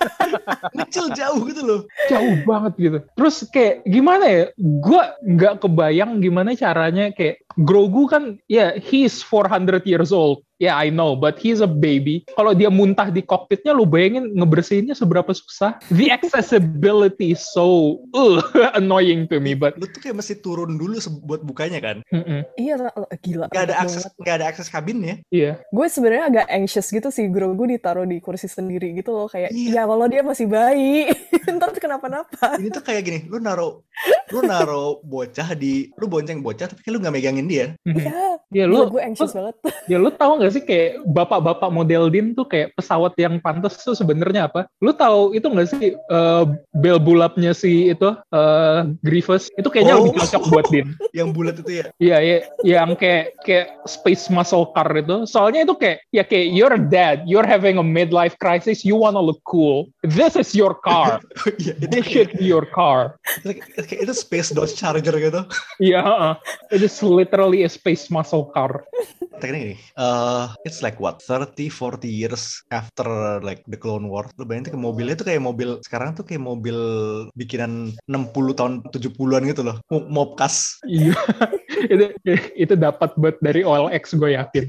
Kecil jauh gitu loh. Jauh banget gitu. Terus kayak gimana ya? Gue nggak kebayang gimana caranya kayak Grogu kan ya yeah, he's four hundred years old. Yeah, I know, but he's a baby. Kalau dia muntah di kokpitnya, lu bayangin ngebersihinnya seberapa susah. The accessibility is so uh, annoying to me, but Lu tuh kayak mesti turun dulu se- buat bukanya kan. mm-mm, Iya, gila. Gak ada enak akses, banget. gak ada akses kabinnya. iya. Gue sebenarnya agak anxious gitu sih, Grogu ditaruh di kursi sendiri gitu loh, kayak Iya. ya kalau dia masih bayi, ntar kenapa-napa. Ini tuh kayak gini, lu naro, lu naro bocah di, lu bonceng bocah tapi kayak lu gak megangin dia. Mhm. Iya, Ya gila, lu, gue anxious banget. ya lu tahu nggak sih kayak bapak-bapak model Din tuh kayak pesawat yang pantas tuh sebenarnya apa? Lu tahu itu nggak sih uh, bel bulapnya si itu uh, Grievous itu kayaknya Oh. lebih cocok buat Din. Yang bulat itu ya. Iya, ya, yang kayak kayak space muscle car itu. Soalnya itu kayak ya kayak you're dead, you're having a midlife crisis, you wanna look cool. This is your car. Iya, itu This kayak, should be your car. kayak- kayak itu Space Dodge Charger gitu. Iya, uh, it is literally a space muscle car. Teknik ini, uh, it's like what, thirty, forty years after like the Clone Wars. Lu bayangin tuh kayak mobilnya tuh kayak mobil, sekarang tuh kayak mobil bikinan enam puluh tahun, tujuh puluhan gitu loh. Mo- Mobcas. Iya, itu itu dapat buat dari O L X gue yakin.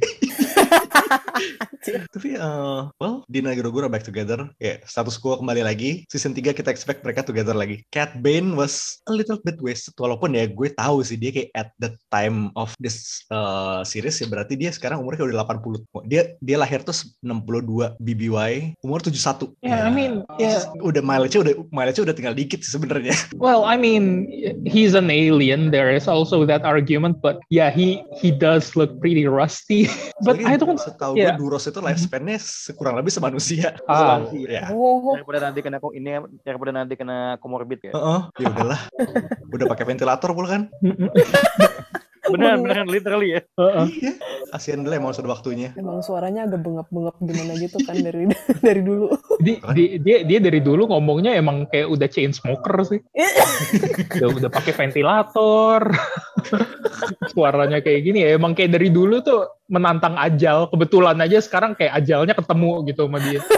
Tapi, uh, well, Din dan Grogu are back together. Ya, status quo kembali lagi. Season tiga kita expect mereka together lagi. Cat Bane was a little bit wasted. Walaupun ya gue tahu sih dia kayak at the time of this uh, series ya berarti dia sekarang umurnya kayak udah delapan puluh. Dia dia lahir tuh enam puluh dua B B Y, umur tujuh puluh satu. Yeah, I mean, yeah. Udah mileage-nya udah mileage-nya udah tinggal dikit sih sebenarnya. Well, I mean, he's an alien. There is also that argument, but yeah, he he does look pretty rusty. But I don't. Setahu yeah. gue Duros itu lifespan-nya kurang lebih semanusia. Ah. Ya. Oh, Daripada nanti kena ko- ini daripada nanti kena komorbid ya. Heeh, ya udahlah. Udah pakai ventilator pula kan? Beneran, beneran literally ya. Uh-uh. Iya. Kasihan dulu emang sudah waktunya. emang suaranya agak bengap-bengap gimana gitu kan dari dari dulu. Di, di- dia dia dari dulu ngomongnya emang kayak udah chain smoker sih. udah udah pakai ventilator. Suaranya kayak gini ya. Emang kayak dari dulu tuh menantang ajal. Kebetulan aja sekarang kayak ajalnya ketemu gitu sama dia.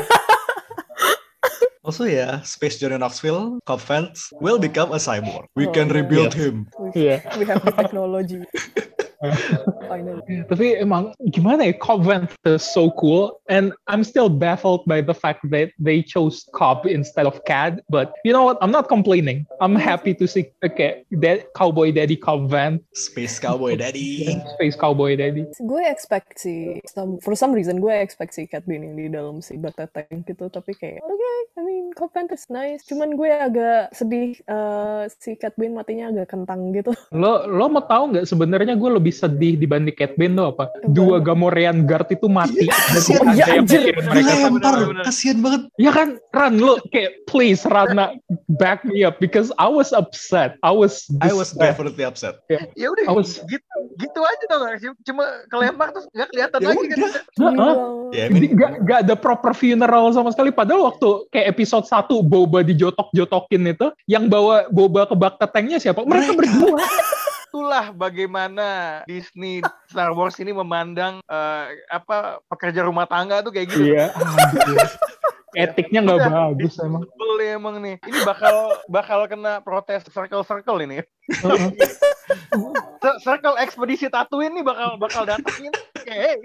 Also ya, Space Johnny Knoxville, Cobb Vanth will become a cyborg. We Oh, can yeah. rebuild Yes. him. We, Iya. we have the technology. Finally. Tapi emang gimana ya, Cobb Vanth is so cool, and I'm still baffled by the fact that they chose Cobb instead of Cad. But you know what? I'm not complaining. I'm happy to see okay, that Cowboy Daddy Cobb Vanth, Space Cowboy Daddy. Space Cowboy Daddy. Gue expect si some, for some reason gue expect si Cat Bane yang di dalam si Bata Tank gitu, tapi kayak oke, okay, I mean Cobb Vanth is nice. Cuman gue agak sedih uh, si Cat Bane matinya agak kentang gitu. Lo lo mau tahu nggak sebenarnya gue lebih lebih sedih dibanding Cat Bane tuh apa? Dua Gamorrean guard itu mati. Kasian Dan ada yang anjir. mikirin mereka. Dilempar, kasian banget. Ya kan, Ran, lu kayak please Rana back me up because I was upset. I was I was distressed. definitely upset. Ya udah I was- gitu gitu aja tau gak sih? Cuma kelempar terus nggak kelihatan Ya lagi kan. udah. Heeh. Ya, I Jadi mean, gak, gak ada proper funeral sama sekali. Padahal waktu kayak episode satu Boba dijotok-jotokin itu, yang bawa Boba ke Bacta Tanknya siapa? Mereka, Mereka. berdua. Itulah bagaimana Disney Star Wars ini memandang eh, apa pekerja rumah tangga tuh kayak gitu. Iya. aduh. Etiknya nggak Udah, bagus emang. Sebel ya emang nih. Ini bakal bakal kena protes circle-circle ini. C- Circle ekspedisi Tatooine nih bakal bakal datangin kayak hey,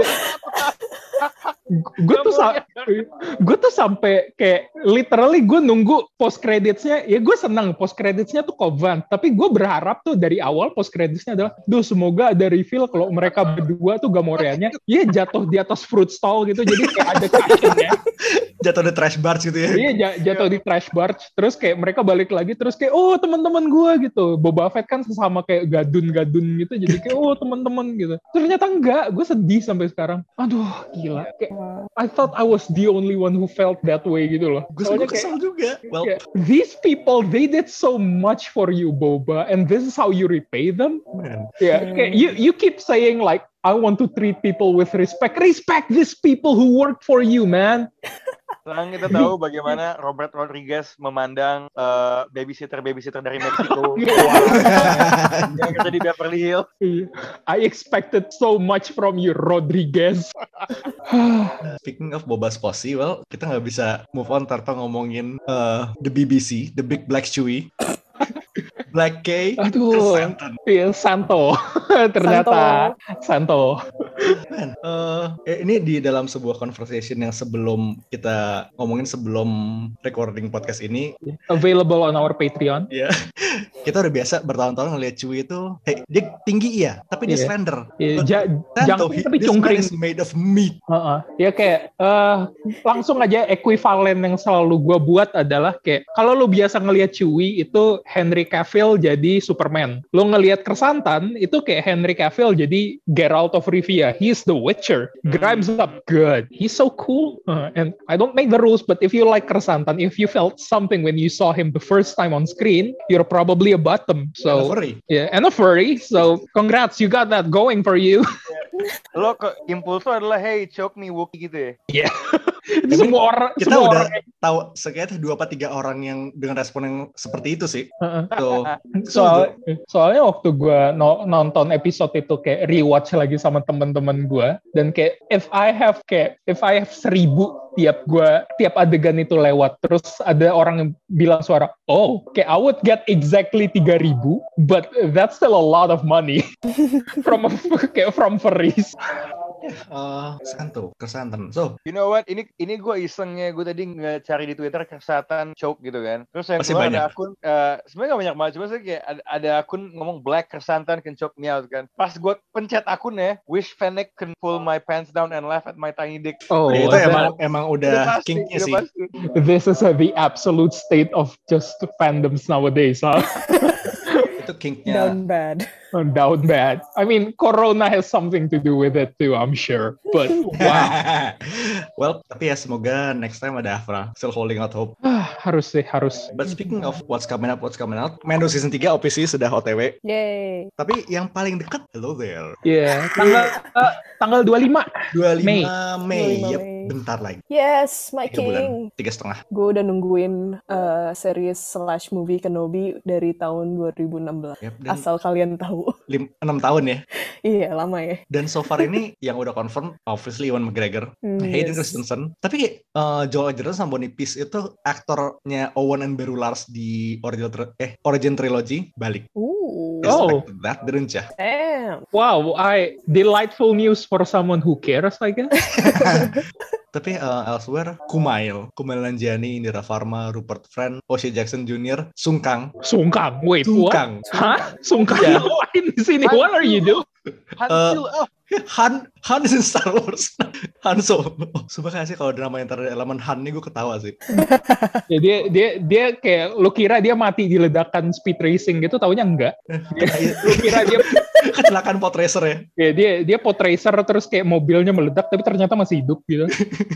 Gue tuh sa- gue tuh sampai kayak literally gue nunggu post creditsnya. Ya gue senang post creditsnya tuh Cobb Vanth, tapi gue berharap tuh dari awal post creditsnya adalah, duh semoga ada reveal kalau mereka berdua tuh Gamorreannya ya jatuh di atas fruit stall gitu, jadi kayak ada captionnya. jatuh di trash barge gitu ya. Iya j- jatuh di trash barge, terus kayak mereka balik lagi, terus kayak oh teman-teman gue gitu. Boba Fett kan sesama kayak gadun-gadun gitu, jadi kayak oh teman-teman gitu. Ternyata enggak, gue sedih sampai sekarang. Aduh gila, kayak I thought I was the only one who felt that way gitu loh. Gue Soalnya suka kesel juga. Well, kayak, these people they did so much for you Boba, and this is how you repay them. man. Ya, kayak you you keep saying like I want to treat people with respect. Respect these people who work for you, man. Sekarang kita tahu bagaimana Robert Rodriguez memandang uh, babysitter-babysitter dari Meksiko yang kerja di Beverly Hills. I expected so much from you, Rodriguez. Speaking of Boba Sposi, well, kita nggak bisa move on tanpa ngomongin uh, the B B C, the Big Black Chewie. Black K, Aduh, Santon. iya Santo. Ternyata Santo. Man, uh, eh, ini di dalam sebuah conversation yang sebelum kita ngomongin sebelum recording podcast ini, Available on our Patreon. ya kita udah biasa bertahun-tahun ngeliat Chewie itu, hey, dia tinggi iya, tapi dia Iya. slender. Iya, But ja- Santo, jangkung he- tapi this man cungkring. is made of meat. Heeh. Ya kayak eh, langsung aja ekuivalen yang selalu gue buat adalah kayak kalau lu biasa ngelihat Chewie itu Henry Cavill jadi Superman, lu ngelihat Kersantan itu kayak Henry Cavill jadi Geralt of Rivia. He's the Witcher. Grimes up good. He's so cool. Uh, and I don't make the rules, but if you like Kersantan, if you felt something when you saw him the first time on screen, you're probably a bottom. So And a furry. yeah, and a furry. So congrats, you got that going for you. Lo ke impulso adalah hey choke me Wookie gitu ya. Iya. Semua orang, Kita semua udah orang. tahu sekayaknya dua apa tiga orang yang dengan respon yang seperti itu sih. Heeh. So, Soal, soalnya waktu gue no, nonton episode itu kayak rewatch lagi sama teman-teman gue, dan kayak if I have kayak if I have seribu tiap gue tiap adegan itu lewat, terus ada orang yang bilang suara oh kayak I would get exactly tiga ribu, but that's still a lot of money from a, kayak from furries. uh, Santo, Kersantan. So, You know what? Ini ini gue isengnya gue tadi nggak cari di Twitter Kersatan choke gitu kan. Terus yang Pasti keluar banyak. ada akun uh, sebenarnya nggak banyak banget, cuma sih kayak ada, ada akun ngomong Black Kersantan can choke me out kan. Pas gue pencet akunnya, wish Fennec can pull my pants down and laugh at my tiny dick. Oh, itu that- emang emang udah pasti, kinknya udah sih. pasti. this is uh, the absolute state of just fandoms nowadays, huh? Itu kinknya. Down bad. Down bad. I mean, Corona has something to do with it too, I'm sure. But wow, Well, tapi ya semoga next time ada Afra. Still holding out hope. harus sih, harus. But speaking of what's coming up, what's coming out, Mando season tiga O P C sudah O T W. Yay. Tapi yang paling dekat, hello there. Iya, tanggal eh, tanggal dua puluh lima. dua puluh lima Mei. Mei. dua puluh lima Yep, Mei. bentar lagi. Yes, my Tiga bulan, king. tiga setengah. Gue udah nungguin uh, series slash movie Kenobi dari tahun dua ribu enam belas. Yep, dan Asal kalian tahu. lim- enam tahun ya. Iya, lama ya. Dan so far ini yang udah confirm, obviously Ewan McGregor, Hmm, Hayden yes. Christensen. Tapi kayak uh, Joel Edgerton sama Bonnie Peace itu aktornya Owen and Beru Lars di original tri- eh origin trilogy balik. Ooh. Oh. Expected that, didn't ya? Damn. Wow, I delightful news for someone who cares, I guess. Tapi uh, elsewhere, Kumail, Kumail Nanjiani, Indira Varma, Rupert Friend, O'Shea Jackson Junior, Sungkang. Sungkang, wait, Sungkang. what? Hah? Sungkang Yeah. ngapain di sini? What are you doing? Han Uh, Solo. Oh, Han Han is in Star Wars. Han Solo. Sumpah sih kalau drama yang ada elemen Han nih gue ketawa sih. Ya, dia dia dia kayak lu kira dia mati di ledakan speed racing gitu, taunya enggak. Dia, lu kira dia kecelakaan pod racer ya. ya dia dia pod racer terus kayak mobilnya meledak tapi ternyata masih hidup gitu.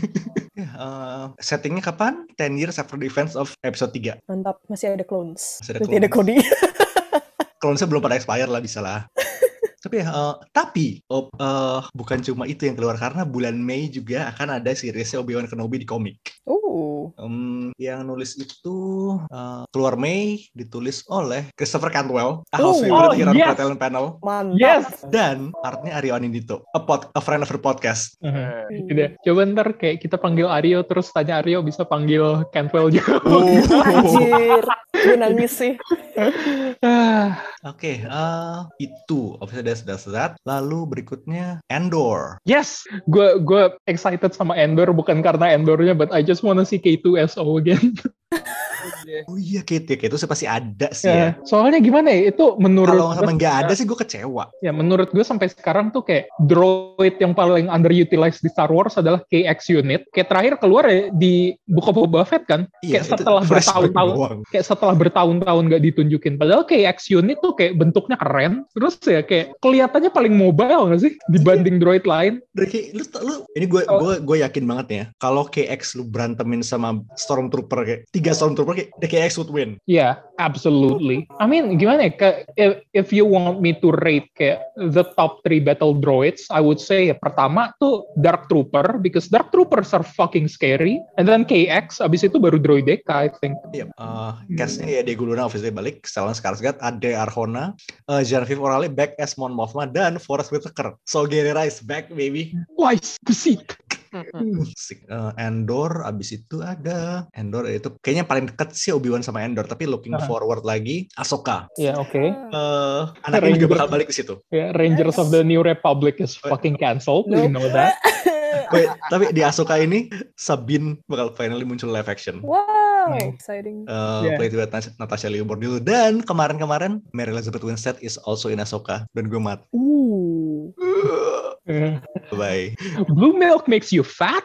Uh, settingnya kapan? ten years after the events of episode tiga. Mantap, masih ada clones. Masih ada Berarti ada clones. Cody. Clones-nya belum pada expire lah, bisa lah. Tapi uh, tapi oh, uh, bukan cuma itu yang keluar, karena bulan Mei juga akan ada seriesnya Obi-Wan Kenobi di komik. Oh. Um, yang nulis itu uh, keluar Mei, ditulis oleh Christopher Cantwell, a house Oh, favorite oh, here on yes. Talent Panel, Mantap. Yes. dan artnya Aryo Anindito, a, pod, a friend of the podcast. Uh, udah. Coba ntar kayak kita panggil Aryo terus tanya Aryo bisa panggil Cantwell juga. Anjir. Gue nangis sih. Ah, Oke, okay, uh, itu episode that's that. Lalu berikutnya Andor. yes, gue gue excited sama Endor bukan karena Endornya, but I just wanna see K two S O again. Oh iya, Kate, ya, Kate itu pasti ada sih Ya, ya. soalnya gimana ya, itu menurut Kalau gue- sama nggak ada sih gue kecewa. ya menurut gue sampai sekarang tuh kayak droid yang paling underutilized di Star Wars adalah K X unit. Kayak terakhir keluar ya di Book of Boba Fett kan, Iya, kayak itu setelah flashback bertahun-tahun doang. kayak setelah bertahun-tahun nggak ditunjukin. Padahal K X unit tuh kayak bentuknya keren, terus ya kayak kelihatannya paling mobile nggak sih dibanding droid lain. Dari kayak, lu, lu, ini gue Oh. gue gue yakin banget ya. Kalau K X lu berantemin sama Stormtrooper kayak tiga Stormtrooper, kayak the K X would win. Yeah, absolutely. I mean, gimana ya? Ke- If, if you want me to rate kayak the top three battle droids, I would say ya, pertama tuh Dark Trooper, because Dark Troopers are fucking scary. And then K X, abis itu baru Droideka, I think. Iya, uh, castnya ya Diego Luna obviously balik, Stellan Skarsgård, Ade Arjona, uh, Genevieve O'Reilly back as Mon Mothma, dan Forest Whitaker. So Gary Rice back baby. Wise to see. Sik- uh, Andor, abis itu ada Andor itu kayaknya paling deket sih Obi-Wan sama Andor, tapi looking Uh-huh. forward lagi Ahsoka. Ya, yeah, oke. Okay. Uh, anaknya juga Ranger. bakal balik ke situ. Yeah, Rangers of the New Republic is fucking cancelled. We know that. Wait, tapi di Ahsoka ini Sabine bakal finally muncul live action. Wow, Hmm. exciting. Uh, Yeah. played with Nat- Natasha Liu Bordillo, dan kemarin-kemarin Mary Elizabeth Winstead is also in Ahsoka, dan gue mat. Ooh. Yeah. Bye. Blue milk makes you fat?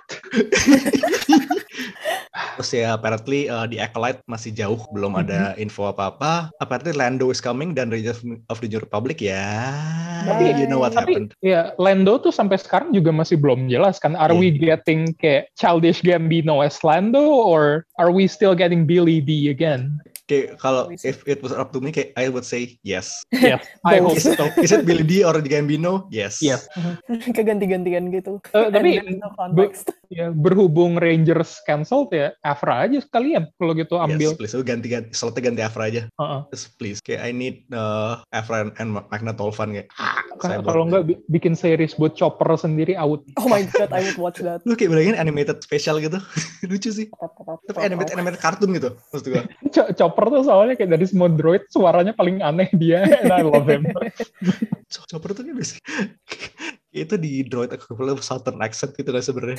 Terus ya apparently uh, di Acolyte masih jauh, belum ada info apa-apa. Apparently Lando is coming dan Rangers of the New Republic ya. Tapi- You know what Tapi happened. ya Lando tuh sampai sekarang juga masih belum jelas kan. Are Yeah. we getting kayak Childish Gambino as Lando, or are we still getting Billy D again? Kayak kalau We see. if it was up to me, kayak I would say yes. Yes, I hope Is it, so. is it Billy D or Gambino? Yes. Yes. Keganti-gantian gitu. Eh, tapi And then no context. ya, berhubung Rangers cancelled ya, Afra aja sekalian kalau gitu ambil. Yes, please. Lu ganti-ganti, slotnya ganti Afra aja. Uh-uh. Yes, please. Kayak I need uh, Afra and Magna Tolvan kayak. Ah, saya Kalau bored. nggak bi- bikin series buat Chopper sendiri, I would. Oh my god, I would watch that. Lu kayak bayangin animated special gitu. Lucu sih. Tapi animated animated kartun gitu maksud gua. Ch- Chopper tuh soalnya kayak dari semua droid suaranya paling aneh dia, and I love him. Ch- Chopper tuh kan biasa. Itu di droid equivalent of Southern accent gitu lah sebenarnya.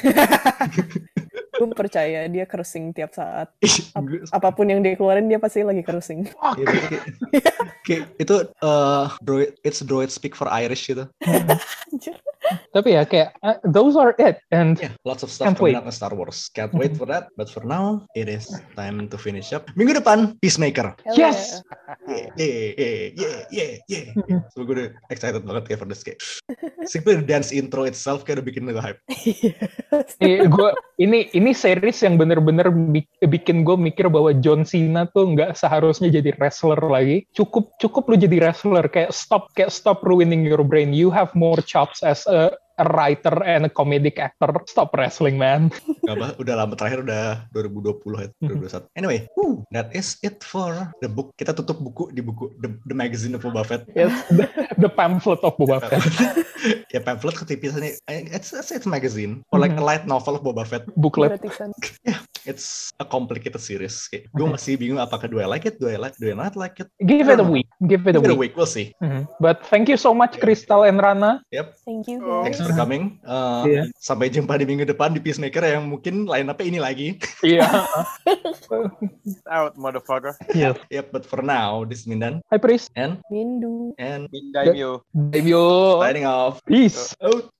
Gue percaya dia cursing tiap saat. Gue- Apapun yang dia keluarin dia pasti lagi cursing. Iya, berarti kayak, kayak itu uh, droid, it's droid speak for Irish gitu. Anjir. Tapi ya kayak uh, those are it, and Yeah, lots of stuff Can't coming wait. out in Star Wars. Can't wait for that. But for now, it is time to finish up. Minggu depan, Peacemaker. Hell Yes! Yeah, yeah, yeah, yeah, yeah. So gue udah excited banget kayak for this game. Simply the dance intro itself kayak udah bikin gue hype. Eh, gua ini ini series yang bener-bener bi- bikin gue mikir bahwa John Cena tuh nggak seharusnya jadi wrestler lagi. Cukup cukup lu jadi wrestler, kayak stop kayak stop ruining your brain. You have more chops as a, a writer and a comedic actor. Stop wrestling, man. Gak apa, udah lama terakhir udah dua ribu dua puluh ya, dua ribu dua puluh satu. Anyway, whew, that is it for the book. Kita tutup buku di buku The, the Magazine of Boba Fett. Yes, the, the pamphlet of Boba Fett. Ya pamphlet ketipisnya, it's, it's, it's a magazine or like a light novel of Boba Fett. Booklet. Gratisan. Ya, it's a complicated series. Kayak, gue masih bingung apakah do I like it, do I like, do I not like it. Give it a week. Give it a Give it a week. week, we'll see. Mm-hmm. But thank you so much, Crystal and Rana. Yep. Thank you guys. Thanks for coming. Uh, Yeah. Sampai jumpa di minggu depan di Peacemaker yang mungkin line up-nya ini lagi. Iya. Out, motherfucker. Yes. Yep, but for now, this is Mindan Hi, Pris. and Mindu. and Daimyo. Baby. signing off. Peace. Out.